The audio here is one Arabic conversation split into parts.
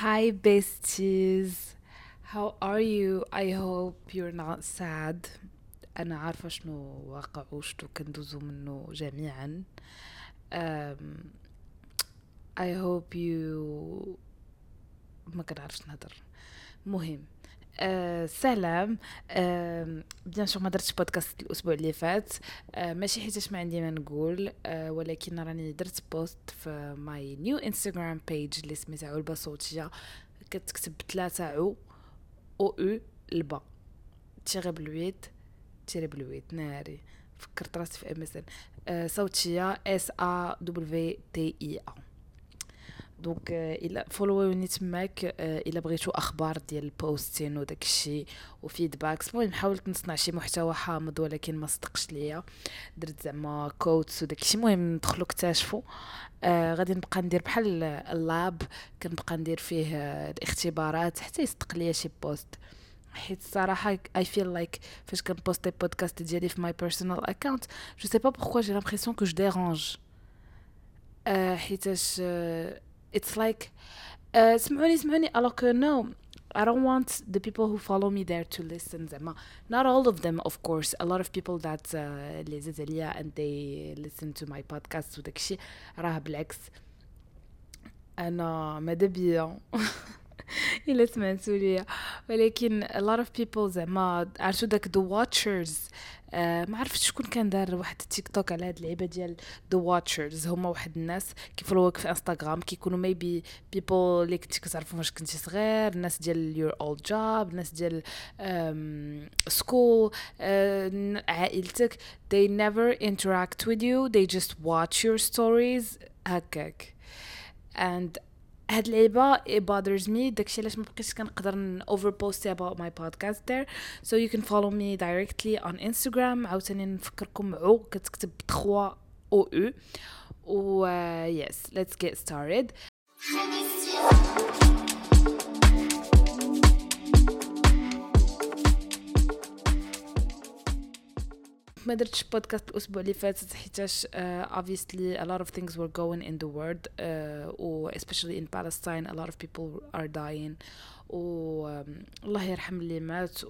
Hi, besties. How are you? I hope you're not sad. أنا عارفة شنو واقع وشنو كندوزو منه جميعا. um, I hope you ما كنعرفش نهضر. مهم. سلام. بيان سور ما درتش بودكاست الاسبوع اللي فات. ماشي حيتاش ما عندي ما نقول، ولكن راني درت بوست في ماي نيو انستغرام بيج اللي سميتها علبه صوتيه. كتكتب 3 او او البا تيري بلويت تيري بلويت ناري. فكرت راسي في ام اس ان صوتيه اس ا دبليو تي اي ا. دونك الا فولووني تماك، الا بغيتو اخبار ديال البوستين وداك الشيء وفيدباكس. المهم حاولت نصنع شي محتوى حامض ولكن ما صدقش ليا. درت زعما كوتس وداك الشيء. المهم دخلوا اكتشفوا. غادي نبقى ندير بحال اللاب، كنبقى ندير فيه الاختبارات حتى يصدق ليا شي بوست. حيت الصراحه I feel like فاش كنبوستي بودكاست ديالي في my personal account je sais pas pourquoi j'ai l'impression que je dérange. حيتاش it's like سمعوني alors que no, I don't want the people who follow me there to listen زعما. Not all of them of course, a lot of people that اللي زاد عليا and they listen to my podcast وداكشي راه بالعكس انا ماذا بيا الا سمعتوا ليا. ولكن a lot of people زعما عرفتوا داك the watchers. ما عرفتش شكون كان دار واحد التيك توك على هاد اللعيبه ديال the watchers. هما واحد الناس كيفولوك في انستغرام، كيكونوا maybe people اللي كنتي كتعرفهم واش كنتي صغير، الناس ديال your old job، الناس ديال school، عائلتك. they never interact with you, they just watch your stories هكاك. and هاد اللعيبه it bothers me. داكشي علاش ما بقيتش كنقدر overpost about my podcast there. so you can follow me directly on Instagram. عاوتاني نفكركم عو كتكتب 3 او او و yes, let's get started. ما درتش بودكاست الاسبوع اللي فات حيتاش obviously a lot of things were going in the world, especially in Palestine a lot of people are dying. الله يرحم اللي مات.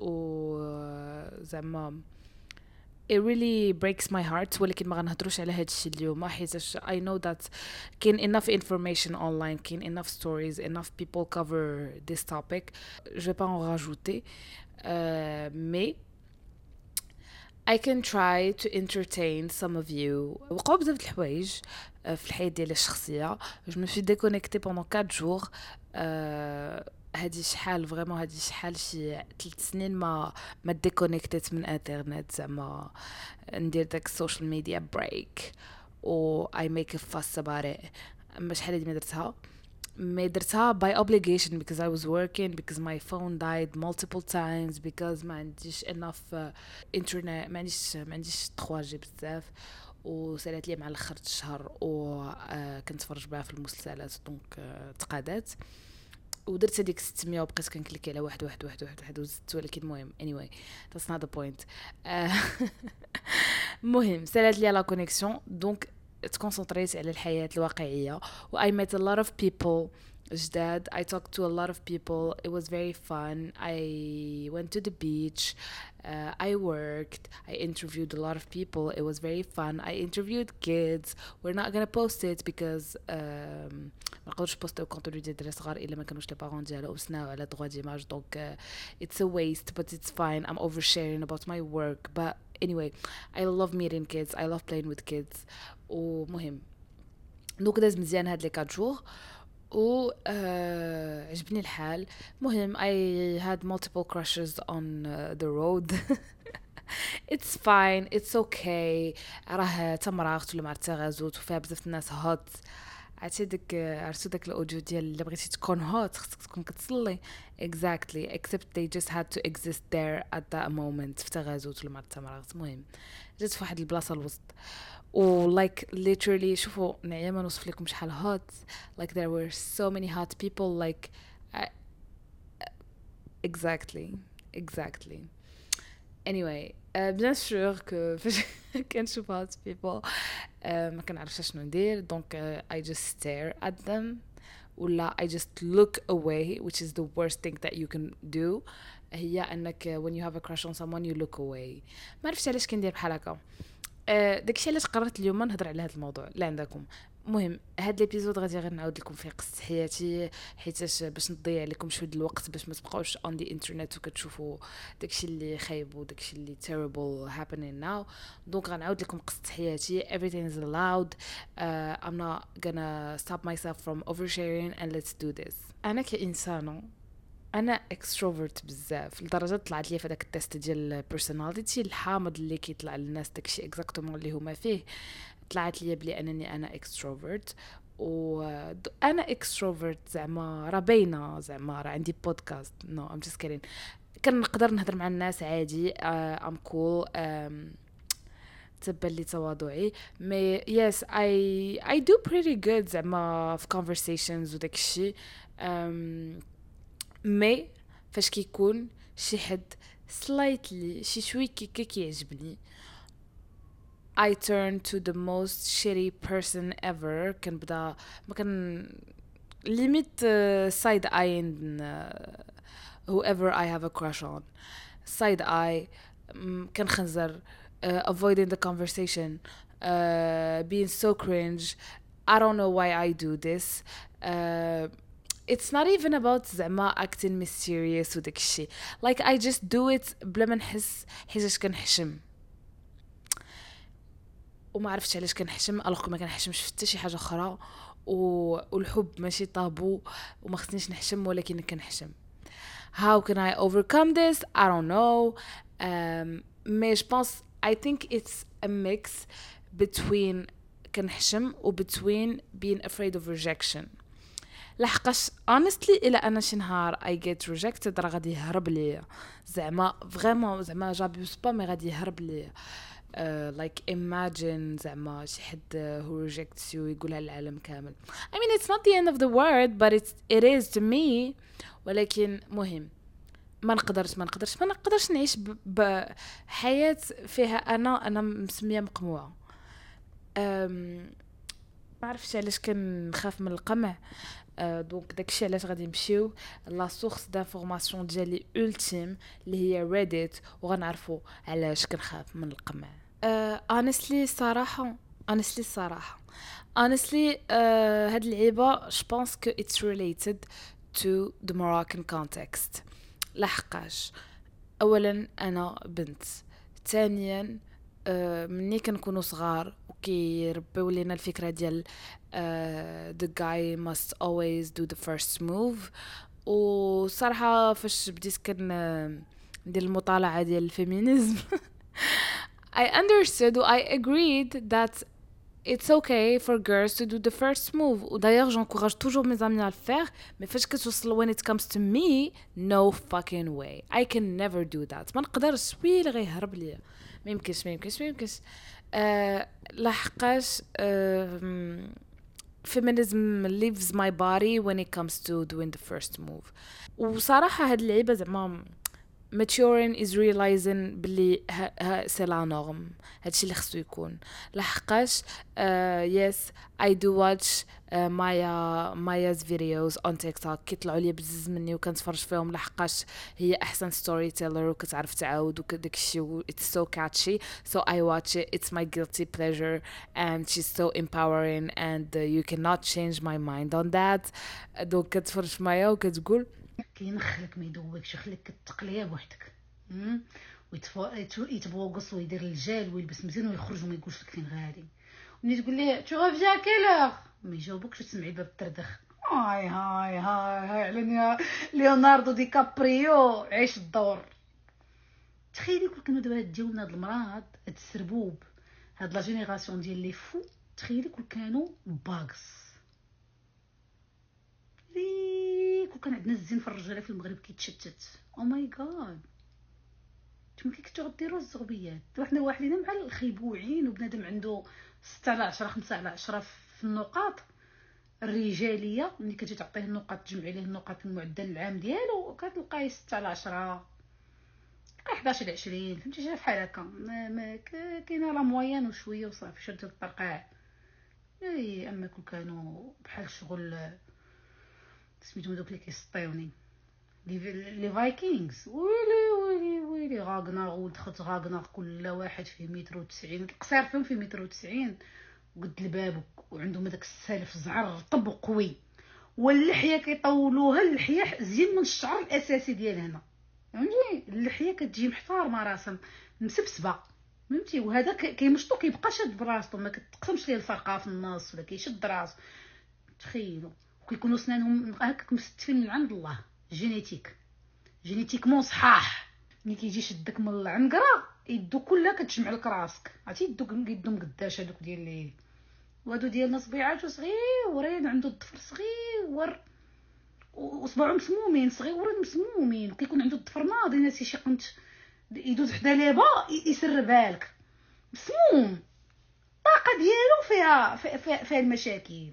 زعما it really breaks my heart. ولكن ما غنهضروش على هاد الشيء اليوم حيتاش I know that كاين enough information online, كاين enough stories, enough people cover this topic. je vais pas en rajouter, mais I can try to entertain some of you. وقعوا بزاف د الحوايج في الحياة ديالي الشخصية. je me suis déconnectée pendant 4 jours. هادي شحال فريمون، هادي شحال شي 3 سنين ما ديكونيكتيت من انترنت. زعما ندير داك السوشيال ميديا بريك و I make a fuss about it. اما شحال هادي ما درتها by obligation because I was working, because my phone died multiple times, because ما عنديش enough internet، ما عنديش 3G بزاف، وسالات لي مع الاخر الشهر و كنتفرج بها في المسلسلات دونك تقادات. ودرت هذيك 600 وبقيت كنكليكي على واحد وزدت. ولكن المهم anyway that's not the point. المهم سالات لي لا كونيكسيون دونك تكونسنتريت على الحياة الواقعية. و I met a lot of people جداد. I talked to a lot of people. It was very fun. I went to the beach. I worked. I interviewed a lot of people. It was very fun. I interviewed kids. We're not gonna post it because ما نقدرش بوستيو كونتوني ديال الدراري صغار الا ما كانوش لي بارون ديالو وسناو على droit d'image. دونك it's a waste but it's fine. I'm oversharing about my work but anyway I love meeting kids. I love playing with kids. ومهم دونك داز مزيان هاد لي 4 جور و عجبني الحال. مهم I had multiple crushes on the road. it's fine, it's okay. راه تمرغت ولا معرفت غازوت وفيها بزاف الناس هوت. عرفتي داك الاوديو ديال اللي بغيتي تكون هوت خصك تكون كتصلي. exactly, except they just had to exist there at that moment في تغازوت ولا معرفت تمرغت. المهم جيت في واحد البلاصه الوسط و like literally شوفوا نعيا ما نوصف لكم شحال hot. like there were so many hot people like exactly anyway bien sûr que فاش كنشوف hot people ما كنعرفش شنو ندير. دونك I just stare at them ولا I just look away, which is the worst thing that you can do. هي انك when you have a crush on someone you look away. ما عرفتش علاش كندير بحال هكا. داكشي علاش قررت اليوم نهضر على هذا الموضوع لا عندكم. مهم هاد الابيزود غادي غير نعاود لكم فيه قصه حياتي حيتاش باش نضيع لكم شويه الوقت باش ما تبقاوش on the internet وكتشوفوا داكشي اللي خايب وداكشي اللي terrible happening now. دونك غنعاود لكم قصه حياتي. Everything is allowed. I'm not gonna stop myself from oversharing and let's do this. انا كإنسانه انا اكستروفرت بزاف لدرجه طلعت لي في داك التيست ديال personality الحامض اللي كيطلع للناس داكشي اكزاكتومون اللي هما فيه. طلعت لي بلي انني انا اكستروفرت وانا اكستروفرت زعما راه باينه زعما راه عندي بودكاست نو ام جاست كيدين. كنقدر نهضر مع الناس عادي ام كول تبان لي تواضعي مي يس I do pretty good زعما في conversations وداكشي مي فاش كيكون شي حد slightly شي شوي كيعجبني I turn to the most shitty person ever. كنبدا ما كان limit side eyeing whoever I have a crush on. Side eye كنخنزر avoiding the conversation being so cringe. I don't know why I do this. It's not even about زعما acting mysterious وداك الشيء. Like I just do it بلا ما نحس حيتاش كنحشم. وما عرفتش علاش كنحشم الوغ ما كنحشمش حتى شي حاجه اخرى والحب ماشي طابو وما خصنيش نحشم ولكن كنحشم. How can I overcome this? I don't know. Mais je pense I think it's a mix between كنحشم و between being afraid of rejection. لحقاش honestly إلا أنا شي نهار I get rejected راه غادي يهرب ليا زعما vraiment زعما جابيوس با مي غادي يهرب ليا. Like imagine زعما شي حد who rejects you يقولها للعالم كامل. I mean it's not the end of the world but it is to me. ولكن مهم ما نقدرش نعيش بحياة فيها أنا مسمية مقموعة. ما عرفتش علاش كنخاف من القمع. دونك داكشي علاش غادي نمشيو لا سورس دانفورماسيون ديالي ultime اللي هي ريديت وغنعرفوا علاش كنخاف من القمع. honestly هاد العيبه je pense que it's related to the Moroccan context. لحقاش اولا انا بنت ثانيا مني كنكونوا صغار وكيربيو لينا الفكره ديال the guy must always do the first move. وصراحه فاش بديت ندير المطالعه ديال الفيمينيزم I understood I agreed that it's okay for girls to do the first move. D'ailleurs j'encourage toujours mes amis à le faire mais فاش كتوصل when it comes to me no fucking way I can never do that. ما نقدرش ويلي غيهرب ليا ما يمكنش لحقاش feminism leaves my body when it comes to doing the first move. وصراحة هاد اللعيبة زعما maturing is realizing بلي c'est la norme. هادشي اللي خصو يكون لحقاش yes I do watch Maya's videos on TikTok كيطلعوا لي بزز مني وكنتفرج فيهم لحقاش هي احسن story teller وكتعرف تعاود وداك الشيء it's so catchy so I watch it. It's my guilty pleasure and she's so empowering and you cannot change my mind on that. دونك كتفرج معايا وكتقول كينخلك ما يدوبكش خليك كتقليه بوحدك يتبوقص ويدير الجال ويلبس مزيان ويخرج وما يقولش لك فين غادي. ملي تقول ليه تو غافجي كيلور ما يجاوبكش تسمعي باب التردخ هاي على ليوناردو دي كابريو عيش الدور. تخيلي كل كانوا دابا ديالنا هاد المرض هاد السربوب هاد لا جينيراسيون ديال لي فو. تخيلي كل كانوا باغس كان عندنا الزين في الرجاله في المغرب كيتشتت او ماي جاد. نتوما كي كنتو غديروا الزغبيات وحنا واحدين مع الخيبوعين وبنادم عنده 6 على 10 5 على 10 في النقاط الرجاليه. ملي كتجي تعطيه النقاط تجمعي ليه النقاط المعدل العام ديالو كتلقاي 6 على 10 11 على 20 فهمتي شي بحال هكا. ما كاينه لا موين وشويه وصافي شد الطرقاع. اي اما كل كانوا بحال شغل سميتهم دوك اللي كيسطيوني لي فايكنجز. ويلي غاغنر ولد خت غاغنر كل واحد فيه 190 متر، القصير فيهم فيه 190 متر وقد الباب، وعندهم هذاك السالف زعر رطب وقوي، واللحيه كيطولوها. اللحيه زين من الشعر الاساسي ديال هنا، فهمتي؟ اللحيه كتجي محتارمه راسها مسبسبه، فهمتي؟ وهذا كيمشطو كيبقى شاد براسو، ما كتقسمش ليه الفرقه في النص ولا كيشد راسو. تخيلوا. وكيكونوا سنانهم هكاك مستفين من عند الله، جينيتيكمون صحاح. ملي كيجي شدك من العنقره يدو كلها كتجمع لك راسك، عرفتي؟ يدو مقداش هذوك ديال اللي وهادو ديالنا صبيعاتو صغيورين، عنده الضفر صغيور وصباعهم مسمومين صغيورين مسمومين، وكيكون عنده الضفر ناضي. ناسي شي قنت يدوز حدا ليبا يسربها لك مسموم، الطاقه ديالو فيها المشاكل.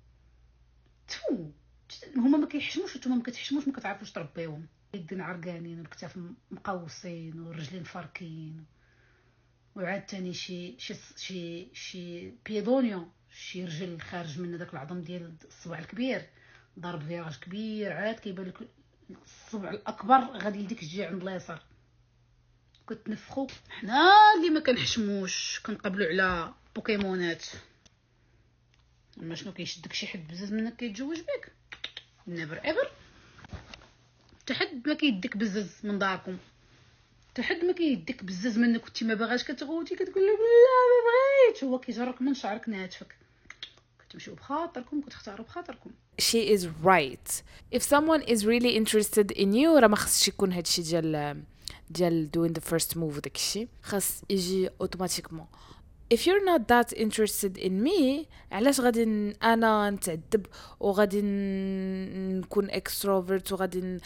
هما ما كيحشموش وانتم ما كتحشموش، ما كتعرفوش تربيوهم. يدين عرقانين والكتاف مقوسين والرجلين فاركين، وعاد تاني شي بيدونيو، شي رجل خارج من داك العظم ديال الصبع الكبير، ضرب فيراج كبير، عاد كيبان لك الصبع الاكبر غادي لديك الجهه عند اليسار. كتنفخوا حنا اللي ما كنحشموش كنقبلوا على بوكيمونات. اما شنو كيشدك شي حد بزاف منك كيتزوج بك؟ نيفر ايفر. تحد ما كيديك بزاف من داركم، تحد ما كيديك بزاف منك وانت ما باغاش كتغوتي، كتقول له لا ما بغيتش، هو كيجرك من شعرك ناتفك. كتمشيو بخاطركم، كتختاروا بخاطركم. She is right. If someone is really interested in you راه ما خصش يكون هادشي ديال doing the first move وداكشي، خاص يجي اوتوماتيكمون. If you're not that interested in me علاش غادي انا نتعذب وغادي نكون extrovert وغادي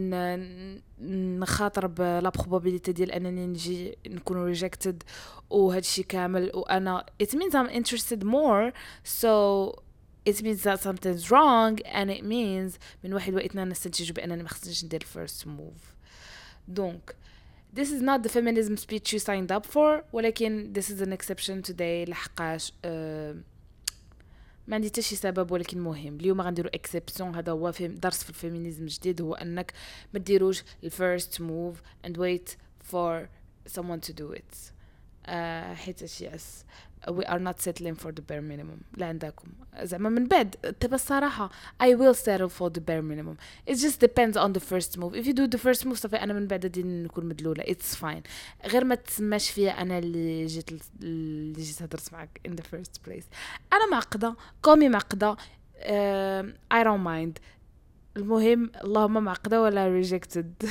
نخاطر بلا probability ديال انني نجي نكون rejected وهادشي كامل، وانا it means I'm interested more, so it means that something's wrong and it means من واحد واثنين نستنتج بانني ما خصنيش ندير first move. Donc this is not the feminism speech you signed up for, ولكن this is an exception today لحقاش ما عندي حتى شي سبب، ولكن مهم اليوم غنديروا exception. هذا هو درس في الفيمينيزم الجديد، هو انك ما ديروش first move and wait for someone to do it. حيت yes we are not settling for the bare minimum. لا عندكم زعما من بعد تبى الصراحة I will settle for the bare minimum. It just depends on the first move. If you do the first move صافي أنا من بعد غادي نكون مدلولة. It's fine. غير ما تسماش فيا أنا اللي جيت هضرت معك in the first place. أنا معقدة، قومي معقدة، I don't mind. المهم اللهم معقدة ولا rejected.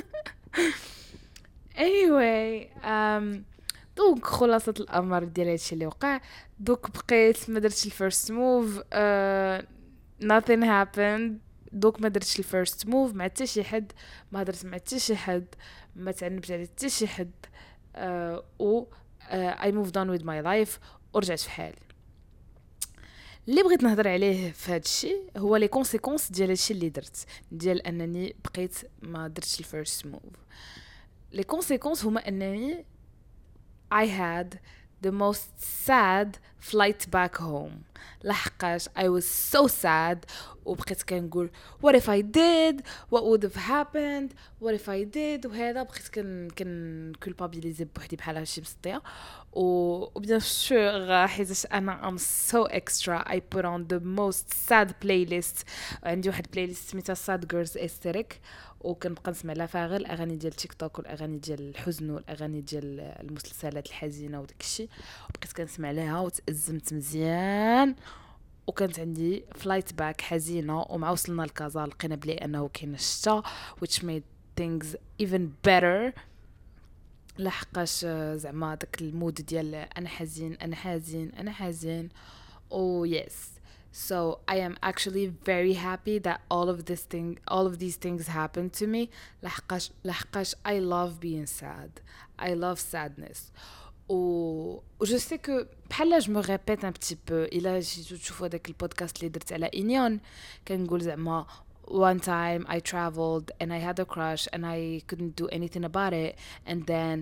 Anyway دوك خلاصة الأمر ديال هادشي اللي وقع. دوك بقيت ما درتش الفيرست موف، nothing happened. دوك ما درتش الفيرست موف مع حتى شي حد، ما هضرت مع حتى شي حد، ما تعنبت على حتى شي حد، و I moved on with my life ورجعت في حالي. اللي بغيت نهضر عليه في هذا الشيء هو لي كونسيكونس ديال هادشي اللي درت، ديال انني بقيت ما درتش الفيرست موف. لي كونسيكونس هما انني I had the most sad flight back home. لحقاش I was so sad وبقيت كنقول what if I did, what would have happened, what if I did. وهذا بقيت كن culpabilize بوحدي بحال هادشي مسطيه. وبيان سور حيت انا I'm so extra I put on the most sad playlist. عندي واحد playlist سميتها sad girls aesthetic، وكنبقى نسمع لها فيها غير الاغاني ديال تيك توك والاغاني ديال الحزن والاغاني ديال المسلسلات الحزينه وداك الشيء، وبقيت كنسمع لها وتأزمت مزيان. وكانت عندي فلايت باك حزينه، ومع وصلنا لكازا لقينا بلي انه كاين الشتا which made things even better. لحقاش زعما داك المود ديال انا حزين انا حزين انا حزين. oh yes, so I am actually very happy that all of these things happened to me. لحقاش I love being sad, I love sadness. je sais que بحال je me répète un petit peu. الا جيتو تشوفوا داك البودكاست اللي درت على إنيون كنقول زعما one time I traveled and I had a crush and I couldn't do anything about it, and then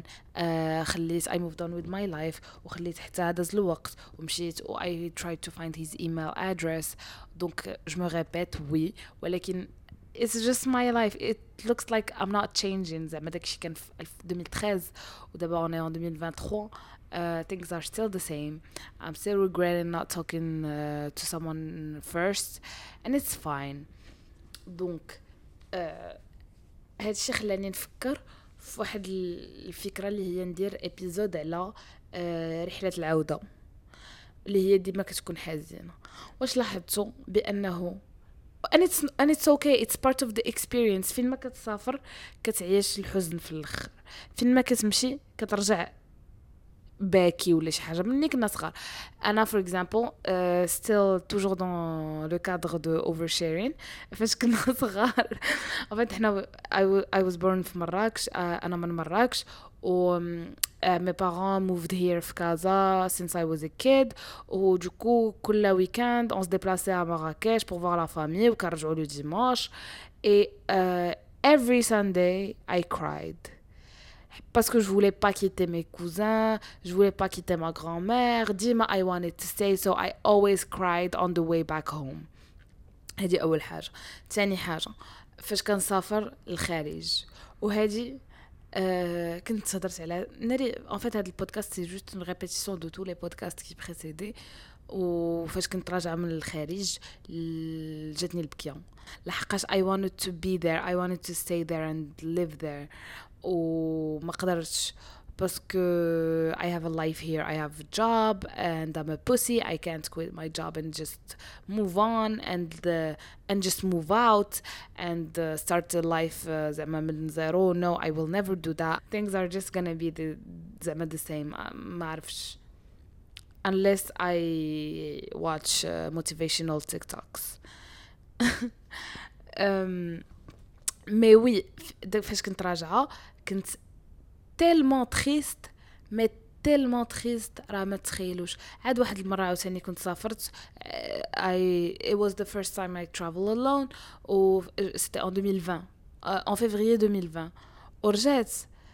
I moved on with my life وخليت حتى هداز الوقت ومشيت و I tried to find his email address. Donc je me répète oui, ولكن it's just my life. It looks like I'm not changing. زعما داكشي كان في 2013 ودابا on est en 2023. Things are still the same. I'm still regretting not talking to someone first, and it's fine. دونك هادشي خلاني نفكر في واحد الفكرة اللي هي ندير ابيزود على رحلة العودة اللي هي ديما كتكون حزينة. واش لاحظتوا بأنه and it's okay, it's part of the experience. فين ما كتسافر كتعيش الحزن في الاخر، فين ما كتمشي كترجع باكي ولا شي حاجه. مني كنا صغار انا for example still toujours dans le cadre de oversharing. فاش كنا صغار en fait حنا I was born في مراكش. انا من مراكش و mes parents moved here في كازا since I was a kid. و دوكو كل weekend on se déplaçait à Marrakech pour voir la famille وكنرجعوا le dimanche. Et every Sunday I cried parce que je voulais pas quitter mes cousins, je voulais pas quitter ma grand-mère. Dima I wanted to stay, so I always cried on the way back home. هذه اول حاجه. ثاني حاجه فاش كنسافر للخارج وهذه كنت هضرت على ناري en fait هذا البودكاست سي جوست une répétition de tous les podcasts qui précédaient. وفاش كنت راجعه من الخارج جاتني البكيه لحقاش I wanted to be there, I wanted to stay there and live there وما قدرتش باسكو I have a life here, I have a job and I'm a pussy. I can't quit my job and just move on and just move out and start a life زعما من zero. No, I will never do that. Things are just gonna be زعما the same. ما عرفش unless I watch motivational TikToks. mais oui فاش كنت راجعه كنت tellement triste mais tellement triste راه ما تخيلوش. عاد واحد المره عاوتاني كنت سافرت it was the first time I travel alone و c'était en 2020 en février 2020 ورجعت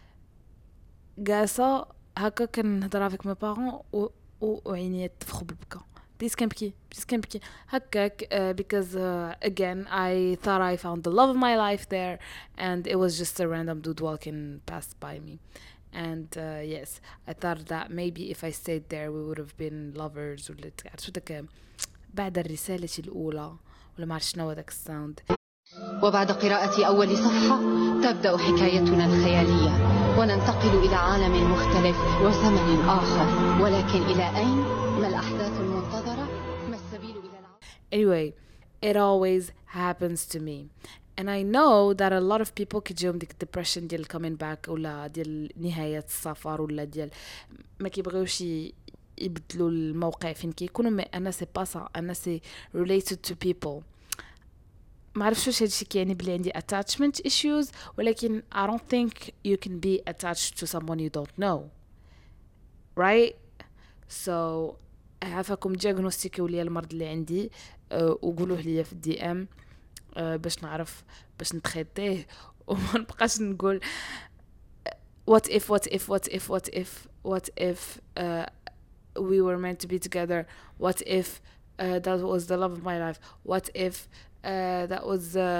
جالسه هكا كنهضر avec mes parents وعيني تفخو بالبكا. بديت كنبكي هكاك because again I thought I found the love of my life there and it was just a random dude walking past by me. And yes, I thought that maybe if I stayed there we would have been lovers. ولا عرفتوا داك بعد الرسالة الأولى ولا ما عرفت شنو داك الساوند. وبعد قراءة أول صفحة تبدأ حكايتنا الخيالية وننتقل إلى عالم مختلف وزمن آخر، ولكن إلى أين؟ ما الأحداث المنتظرة؟ ما السبيل إلى Anyway, it always happens to me. And I know that a lot of people كيجيهم ديك depression ديال coming back ولا ديال نهاية السفر ولا ديال ما كيبغيوش يبدلوا الموقع فين كيكونوا. ما أنا سي با سا، أنا سي related to people. ما عرفش واش هادشي كيعني بلي عندي attachment issues، ولكن I don't think you can be attached to someone you don't know, right? So عافاكم دياغنوستيكيو ليا المرض اللي عندي وقولوه ليا في الدي ام باش نعرف باش نتخيطيه وما نبقاش نقول what if we were meant to be together, what if that was the love of my life, what if that was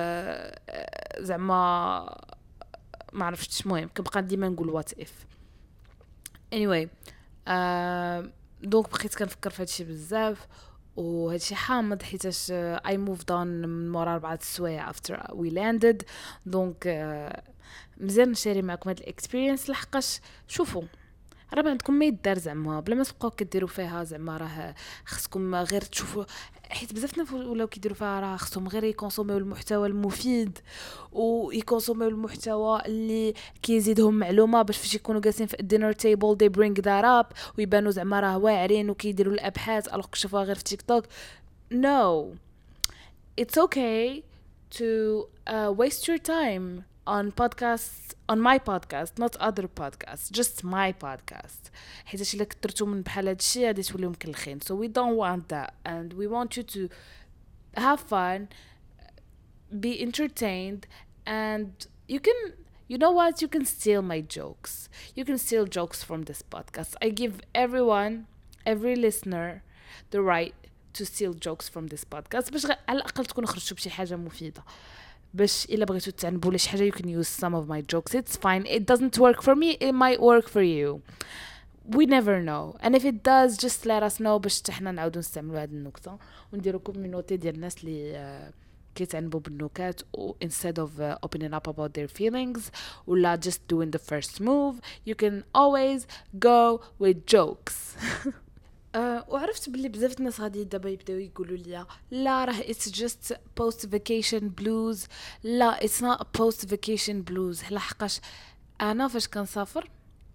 زعما ما عرفتش. المهم كنبقى ديما نقول what if. anyway دونك بقيت كنفكر في هادشي بزاف وهادشي حامض حيتاش I moved on من مورا 4 السوايع after we landed. دونك مزيان نشاري معكم هاد الاكسبيرينس لحقاش شوفوا راه عندكم ما يدار زعما بلا ما تبقاو كديروا فيها زعما راه خصكم غير تشوفوا، حيت بزاف ناس ولاو كيديروا فيها راه خصهم غير يكونسوميو المحتوى المفيد ويكونسوميو المحتوى اللي كيزيدهم معلومه باش فاش يكونوا جالسين في الدينر تيبل they bring that up ويبانوا زعما راه واعرين وكيديروا الابحاث الوغ كشوفوها غير في تيك توك. No, it's okay to waste your time on podcasts, on my podcast, not other podcasts, just my podcast. حيت الا كثرتوا من بحال هادشي غادي توليو مكلخين. So we don't want that and we want you to have fun be entertained, and you can, you know what, you can steal my jokes, you can steal jokes from this podcast. I give everyone, every listener, the right to steal jokes from this podcast باش على الاقل تكونوا خرجتوا بشي حاجه مفيده. باش الا بغيتوا تعنبوا لي شي حاجه you can use some of my jokes. It's fine, it doesn't work for me, it might work for you. We never know, and if it does just let us know باش حنا نعاودوا نستعملوا هذه النكته ونديروا كوميونيتي ديال الناس اللي كيتعنبوا بالنكات instead of opening up about their feelings ولا just doing the first move. You can always go with jokes. وعرفت باللي بزاف الناس غادي دابا يبداو يقولوا لي لا راه it's just post vacation blues. لا it's not post vacation blues. لحقاش انا فاش كنسافر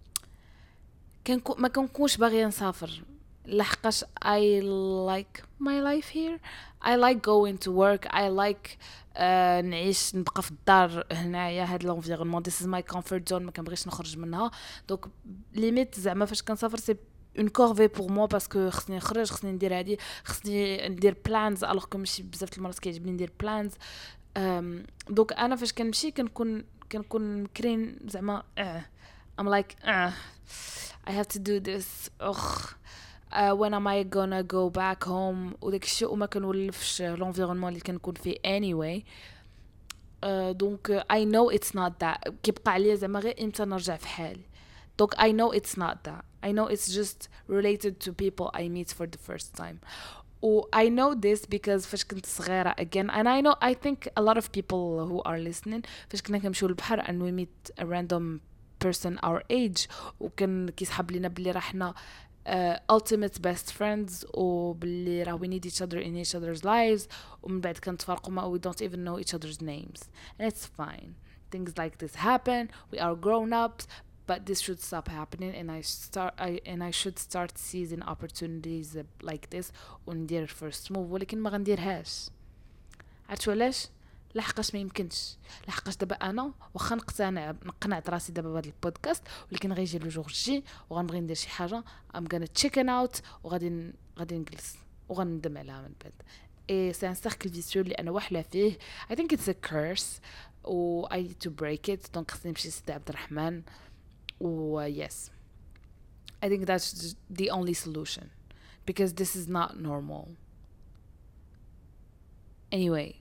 ما كنكونش باغيه نسافر لحقاش I like my life here. I like going to work. I like نعيش نبقى في الدار هنايا هاد l'environnement. This is my comfort zone. ما كنبغيش نخرج منها. دونك ليميت زعما فاش كنسافر سي une corvée pour moi parce que خصني نخرج, خصني ندير هادي, خصني ندير plans alors que ماشي بزاف المرات كيعجبني ندير plans. دونك انا فاش كنمشي كنكون مكرين زعما I'm like I have to do this. When am I gonna go back home وداك الشيء وما كنولفش l'environnement اللي كنكون فيه anyway. دونك I know it's not that. كيبقى عليا زعما غير امتى نرجع في حالي. دونك I know it's not that. I know it's just related to people I meet for the first time. I know this because فاش كنت صغيرة again, and I think a lot of people who are listening فاش كنا كنمشيو للبحر and we meet a random person our age وكان كيسحب لينا بلي راحنا ultimate best friends وبلي راه we need each other in each other's lives ومن بعد كنتفارقوا ما we don't even know each other's names, and it's fine. Things like this happen. We are grown ups, but this should stop happening, and I should start seizing opportunities like this وندير first move. ولكن ما غنديرهاش. عرفتوا علاش؟ لحقاش ما يمكنش. لحقاش دابا انا واخا نقنعت راسي دابا بهذا البودكاست ولكن غيجي لو جور جي وغنبغي ندير شي حاجه I'm gonna chicken out وغادي نجلس وغندم عليها من بعد. اي سي ان سيركل فيسيو اللي انا واحله فيه. I think it's a curse و I need to break it. دونك خصني نمشي لسيدي عبد الرحمن و yes, I think that's the only solution because this is not normal. Anyway,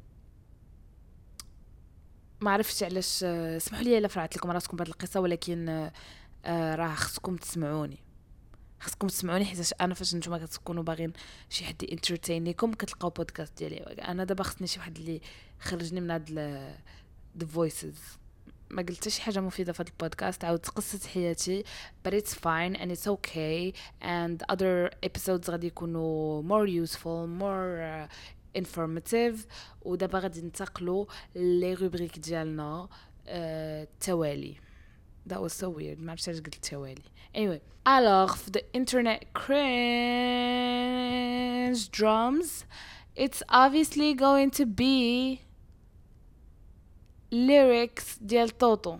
ما عرفتش علاش. اسمحوا لي الا فرعت لكم راسكم بهذه القصه ولكن راه خصكم تسمعوني حيت انا فاش نتوما كتكونوا باغيين شي حد انترتين لكم كتلقاو بودكاست ديالي. انا دابا خصني شي واحد اللي خرجني من هاد the voices. ما قلت شي حاجه مفيده في هذا البودكاست. عاودت قصه حياتي but it's fine and it's okay, and other episodes غادي يكونوا more useful, more informative. ودابا غادي ننتقلوا لي روبريك ديالنا التوالي. That was so weird. ما عرفتش علاش قلت التوالي. Anyway, alors for the internet cringe drums, it's obviously going to be lyrics ديال طوطو.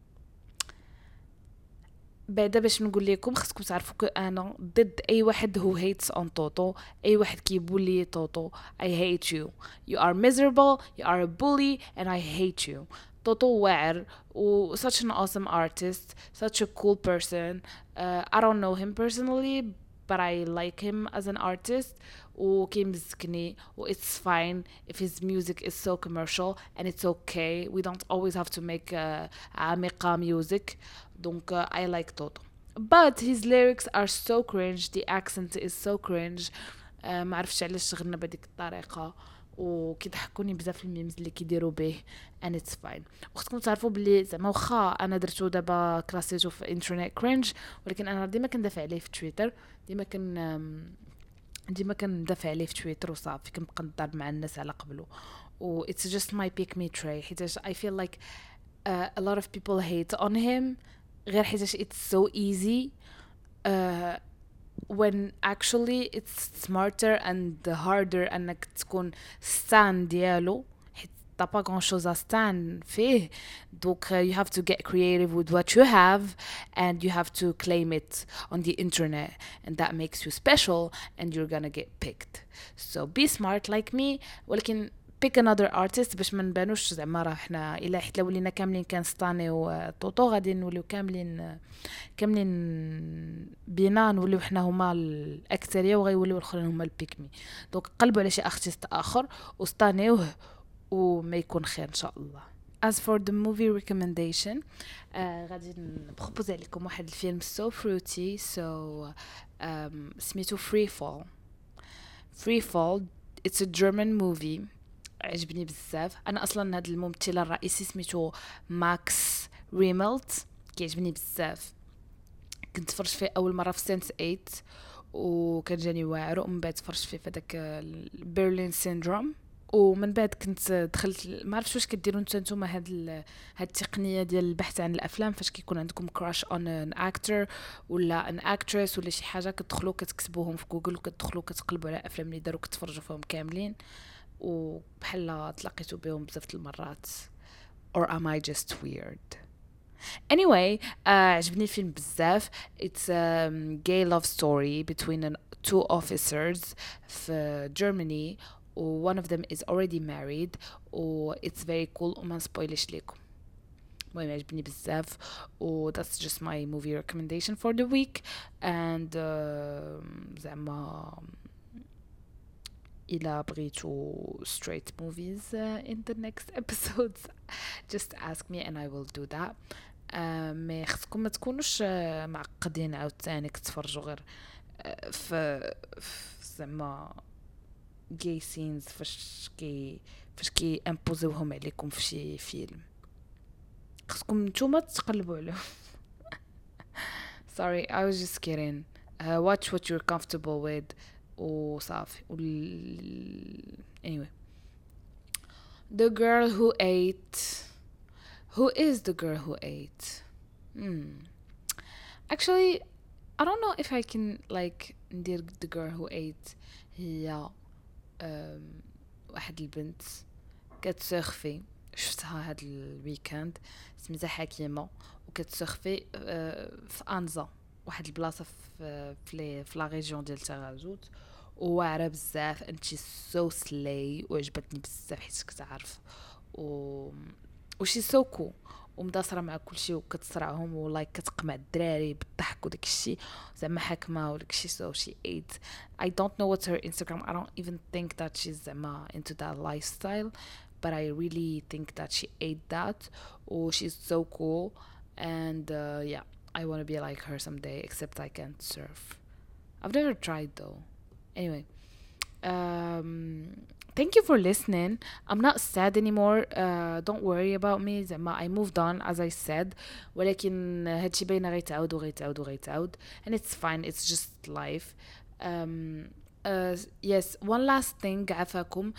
بعدا باش نقول لكم خصكم تعرفوا انا ضد اي واحد who hates on طوطو, اي واحد كيبولي طوطو. I hate you. You are miserable, you are a bully, and I hate you. طوطو واعر و such an awesome artist, such a cool person. I don't know him personally, but I like him as an artist. وكيمزكني و it's fine if his music is so commercial, and it's okay. We don't always have to make عميقة music. Donc I like Toto, but his lyrics are so cringe. The accent is so cringe. ما عرفتش علاش غنى بهذيك الطريقة وكيضحكوني بزاف الميمز اللي كيديروا به, and it's fine. وخصكم تعرفوا بلي زعما واخا انا درتو دابا كلاسيتو في انترنت كرنج ولكن انا ديما كندافع عليه في تويتر. ديما كندافع عليه في تويتر وصافي كنبقى نضرب مع الناس على قبله. و it's just my pick me tray حيت I feel like a lot of people hate on him غير حيت it's so easy when actually it's smarter and harder انك تكون stan ديالو حيت t'as pas grand chose à stand فيه. donc you have to get creative with what you have and you have to claim it on the internet, and that makes you special and you're gonna get picked. So be smart like me ولكن pick another artist باش ما نبانوش زعما راه حنا الا حيت لو ولينا كاملين كنستاني وطوطو غادي نوليو كاملين بينا نوليو حنا هما الاكثريه وغيوليو الاخرين هما البيكمي. دونك قلبوا على شي ارتست اخر وستانيوه وما يكون خير ان شاء الله. As for the movie recommendation, غادي نبروبوزي لكم واحد الفيلم so fruity, so سميتو Free Fall. It's a German movie. عجبني بزاف. انا اصلا هذا الممثل الرئيسي سميتو ماكس ريملت، كيعجبني بزاف. كنت فرجت فيه اول مره في سنس 8 وكان جاني واعر، ومن بعد فرجت فيه في داك برلين سيندروم، ومن بعد كنت دخلت ما عرفتش واش كديروا نتوما هاد التقنيه ديال البحث عن الافلام، فاش كيكون عندكم كراش اون ان اكتر ولا ان اكتريس ولا شي حاجه، كتدخلوا كتكتبوهم في جوجل وكتدخلوا كتقلبوا على الافلام اللي داروا كتفرجوا فيهم كاملين، وبحال تلاقيتوا بهم بزاف المرات. or am I just weird? Anyway, عجبني الفيلم بزاف. It's a gay love story between two officers في Germany. One of them is already married. It's very cool وما نسبويلش لكم. المهم عجبني بزاف that's just my movie recommendation for the week. And زعما إلا بغيتو straight movies in the next episodes just ask me and I will do that. ما خصكم ما تكونوش معقدين عاوتاني كتفرجوا غير في زعما gay scenes فاش كي امبوزوهم عليكم في شي فيلم. خصكم نتوما تقلبوا عليهم. Sorry, I was just kidding. Watch what you're comfortable with وصافي. Anyway, the girl who ate. Who is the girl who ate? Actually, I don't know if I can like ندير the girl who ate. هي واحد البنت كتسخفي، شفتها هاد الويكاند، سميتها حكيمة، وكتسخفي في أنزا، واحد البلاصة في لا ريجيون ديال تاغازوت، وواعرة بزاف and she's so slay، وعجبتني بزاف حيت كتعرف she's so cool ومداصره مع كلشي وكتصرعهم ولايك كتقمع الدراري بالضحك وداك الشيء زعما حاكمه وداك الشيء. so she ate. I don't know what's her Instagram. I don't even think that she's زعما into that lifestyle, but I really think that she ate that. she's so cool and yeah, I want to be like her someday, except I can't surf. I've never tried though. Anyway, thank you for listening. I'm not sad anymore. Don't worry about me. I moved on as I said. ولكن هادشي باينه غيتعاود and it's fine. It's just life. Yes, one last thing عافاكم.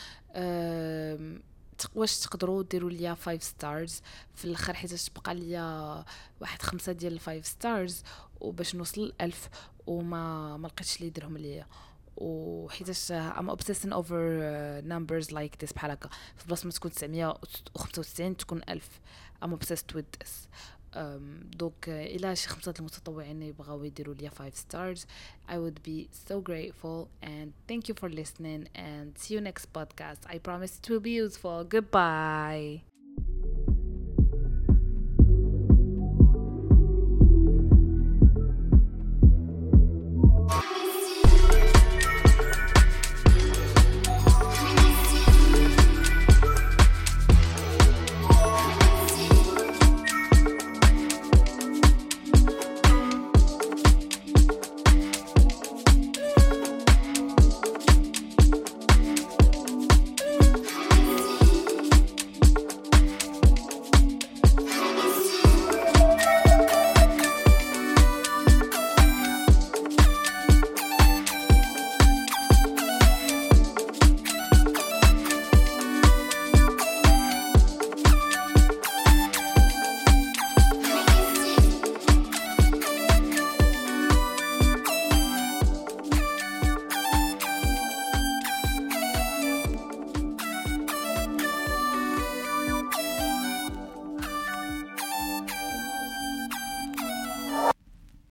واش تقدروا ديروا ليا 5 stars في الاخر حيت تبقى ليا واحد 5 ديال 5 stars وباش نوصل 1000 وما لقيتش لي يديرهم ليا. وحيتاش I'm obsessing over numbers like this بحال هكا في بلاصه ما تكون 995 تكون 1000. I'm obsessed with this. دوك الى شي 5 المتطوعين يبغاو يديروا ليا 5 stars I would be so grateful and thank you for listening and see you next podcast. I promise it will be useful. Goodbye.